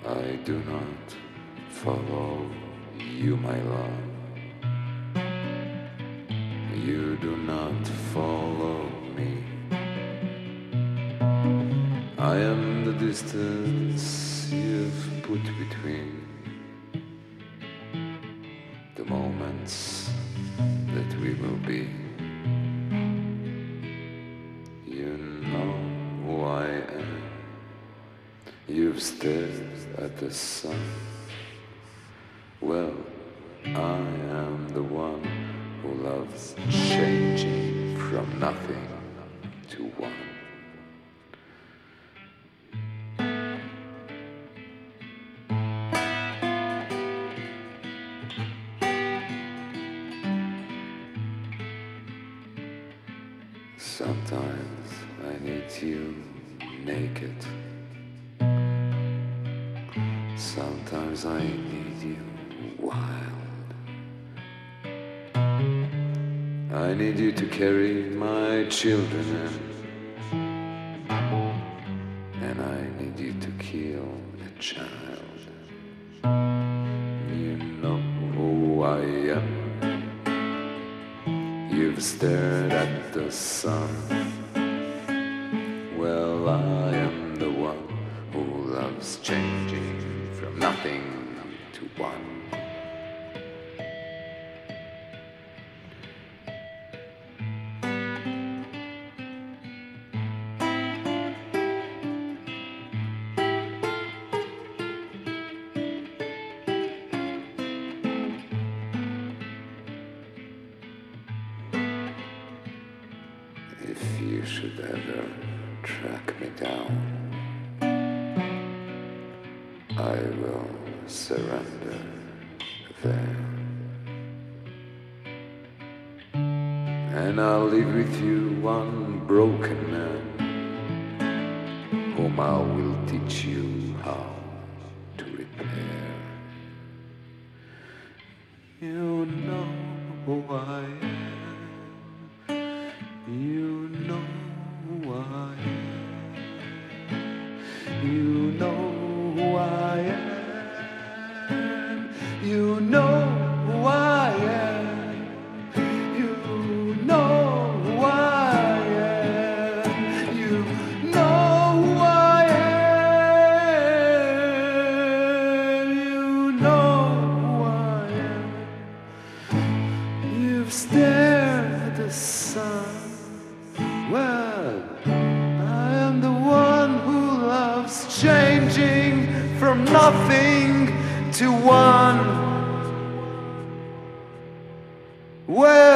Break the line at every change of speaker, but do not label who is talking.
I do not follow you, my love. You do not follow me. I am the distance you've put between the moments that we will be. You know who I am. You've stared at the sun. Well, I am the one who loves changing from nothing to one. Sometimes I need you naked. Sometimes I need you wild. I need you to carry my children and I need you to kill a child. You know who I am. You've stared at the sun. Well, I am the one who loves changing from nothing to one. If you should ever track me down, I will surrender there. And I'll leave with you one broken man, whom I will teach you how to repair. You know who I am. You know who I am. You know who I am. You know who I am. You know who I am. You know who I am. You know who I am. You've stared at the sun. Well, I am the one who loves changing from nothing to one. Well,